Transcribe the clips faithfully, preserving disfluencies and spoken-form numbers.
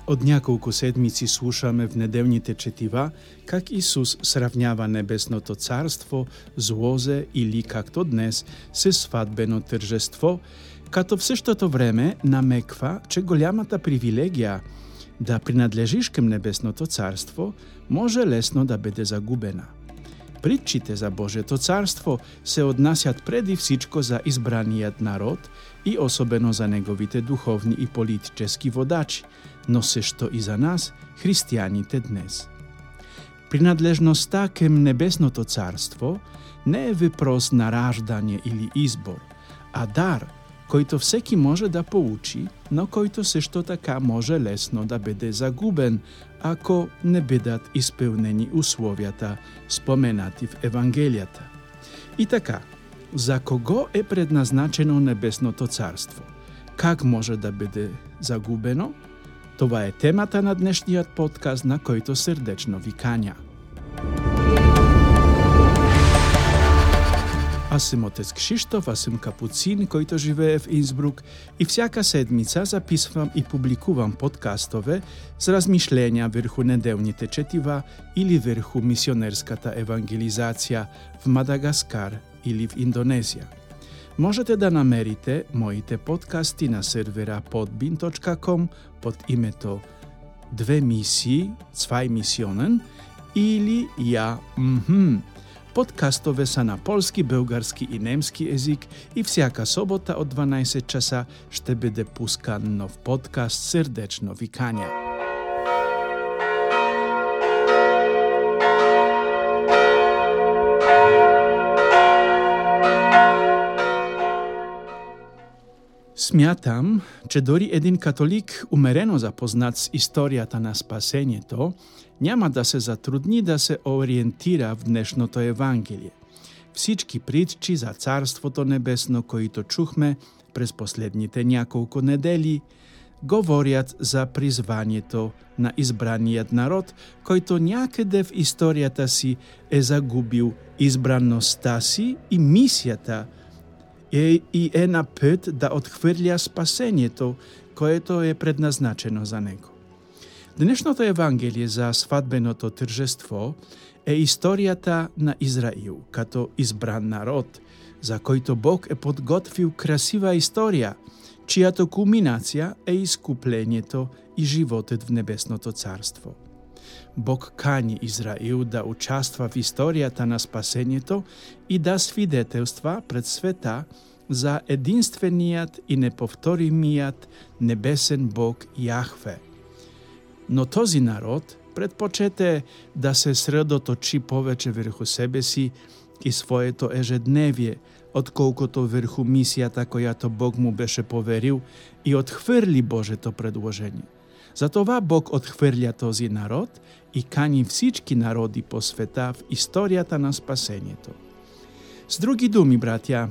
Od няколко седмици слушаме в неделните четива как Исус сравнява небесното царство с лозе или, както днес, с сватбено тържество, като в същото време намеква, че голямата привилегия да принадлежиш към небесното царство може лесно да бъде загубена. Притчите за Божието царство се отнасят преди всичко за избраният народ и особено за неговите духовни и политически водачи, но също и за нас, християните днес. Принадлежността към небесното царство не е въпрос на раждане или избор, а дар, който всеки може да получи, но който също така може лесно да бъде загубен, ако не бъдат изпълнени условията, споменати в Евангелията. И така, за кого е предназначено небесното царство? Как може да бъде загубено? Това е темата на днешният подкаст, на който сърдечно ви каня. Аз съм отец Кшиштоф, аз съм капуцин, който живее в Инсбрук и всяка седмица записвам и публикувам подкастове с размишления върху неделните четива или върху мисионерската евангелизация в Мадагаскар или в Индонезия. Можете да намерите моите подкасти на сервера podbean точка com под името Две мисии, Zwei Missionen или Я Мхм. Подкастове са на полски, български и немски език и всяка събота от дванайсет часа ще бъде пускан нов подкаст. Сърдечно ви каня. Смятам, че дори един католик, умерено запознат с историята на спасението, няма да се затрудни да се ориентира в днешното Евангелие. Всички притчи за Царството небесно, които чухме през последните няколко недели, говорят за призванието на избраният народ, който някъде в историята си е загубил избраността си и мисията е, и е на път да отхвърля спасението, което е предназначено за него. Днешното Евангелие за сватбеното тържество е историята на Израил като избран народ, за който Бог е подготвил красива история, чиято кулминация е изкуплението и животът в небесното царство. Бог кани Израил да участва в историята на спасението и да свидетелства пред света за единственият и неповторимият небесен Бог Яхве. Но този народ предпочете да се средоточи повече върху себе си и своето ежедневие, отколкото върху мисията, която Бог му беше поверил, и отхвърли Божието предложение. Затова Бог отхвърля този народ и кани всички народи по света в историята на спасението. С други думи, братя,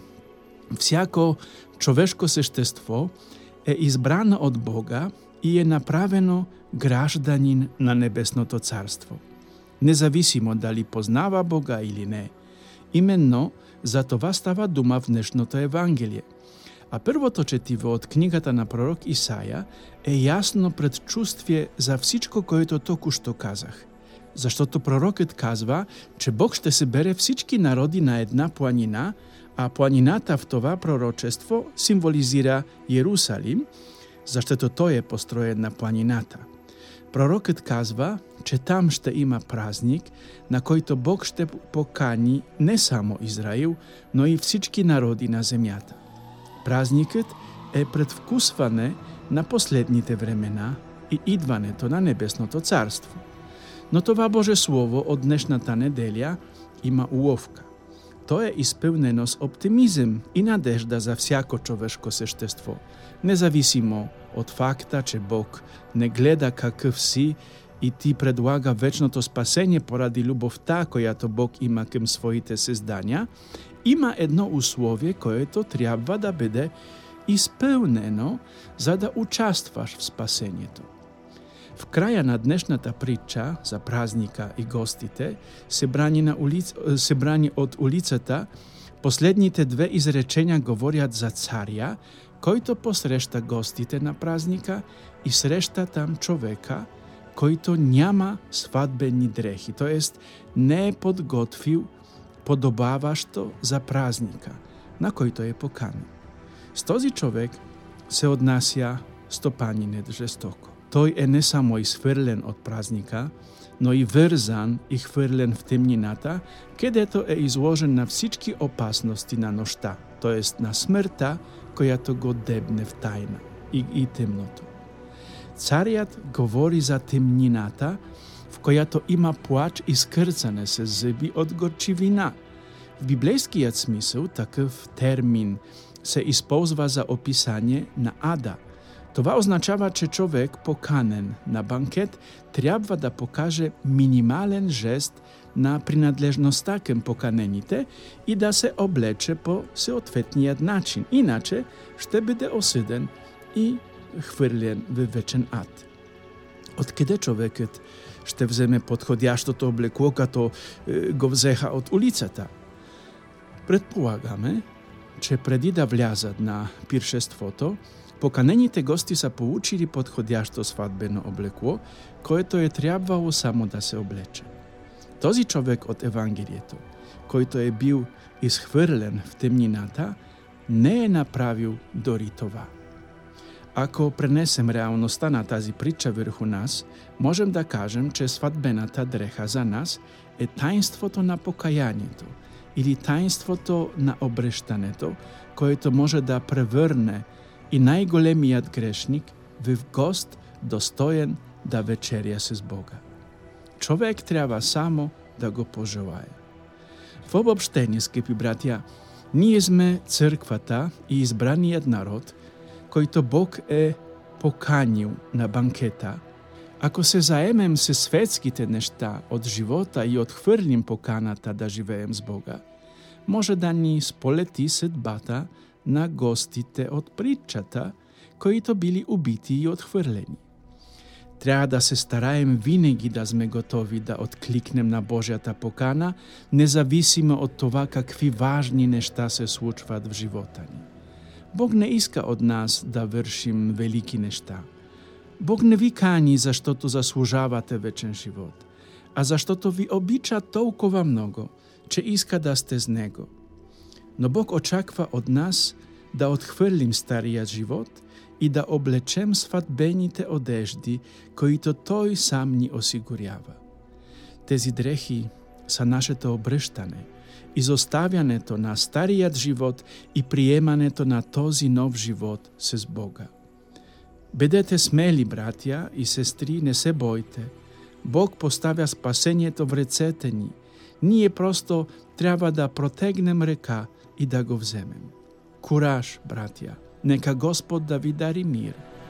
всяко човешко същество е избрано от Бога и е направено гражданин на небесното царство. Независимо дали познава Бога или не. Именно за това става дума в днешното Евангелие. А първото четиво от книгата на пророк Исаия е ясно предчувствие за всичко, което току-що казах. Защото пророкът казва, че Бог ще събере всички народи на една планина, а планината в това пророчество символизира Иерусалим, защото той е построен на планината. Пророкът казва, че там ще има празник, на който Бог ще покани не само Израил, но и всички народи на земята. Празникът е предвкусване на последните времена и идването на небесното царство. Но това Божие Слово от днешната неделя има уловка. То е изпълнено с оптимизъм и надежда за всяко човешко същество, независимо от факта, че Бог не гледа какъв си и ти предлага вечното спасение поради любовта, която Бог има към своите създания. Има едно условие, което трябва да бъде изпълнено, за да участваш в спасението. В края на днешната притча за празника и гостите, събрани, на улиц... събрани от улицата, последните две изречения говорят за царя, който посреща гостите на празника и среща там човека, който няма сватбени дрехи, т.е. не е подготвил подобаващо за празника, на който е поканен. С този човек се отнася стопанинът жестоко. Той е не само изхвърлен от празника, но и вързан и хвърлен в темнината, където е изложен на всички опасности на нощта, т.е. на смъртта, която го дебне в тайна и, и темното. Царят говори за темнината, в която има плач и скърцане с зъби от горчивина. В библейският смисъл такъв термин се използва за описание на ада. Това означава, че човек, поканен на банкет, трябва да покаже минимален жест на принадлежността към поканените и да се облече по съответният начин. Иначе ще бъде осъден и хвърлен в вечен ад. Откъде човекът ще вземе подходящото облекло, като е, го взеха от улицата? Предполагаме, че преди да влязат на пиршеството, поканените гости са получили подходящо сватбено облекло, което е трябвало само да се облече. Този човек от Евангелието, който е бил изхвърлен в темнината, не е направил дори това. Ако пренесем реалността на тази притча върху нас, можем да кажем, че сватбената дреха за нас е таинството на покаянието или таинството на обръщането, което може да превърне и най-големият грешник в гост, достоен да вечеря с Бога. Човек трябва само да го пожелае. В обобщение, скъпи братя, ние сме църквата и избраният народ, който Бог е поканил на банкета. Ако се заемем с светските неща от живота и отхвърлим поканата да живеем с Бога, може да ни сполети съдбата на гостите от притчата, които били убити и отхвърлени. Трябва да се стараем винаги да сме готови да откликнем на Божията покана, независимо от това какви важни неща се случват в живота ни. Бог не иска от нас да вършим велики неща. Бог не ви кани, защото заслужавате вечен живот, а защото ви обича толкова много, че иска да сте с Него. Но Бог очаква от нас да отхвърлим стария живот и да облечем сватбените одежди, които Той сам ни осигурява. Тези дрехи са нашето обръщане, изоставянето на старият живот и приемането на този нов живот с Бога. Бъдете смели, братя и сестри, не се бойте. Бог поставя спасението в ръцете ни. Ние просто трябва да протегнем ръка и да го вземем. Кураж, братя! Нека Господ да ви дари мир.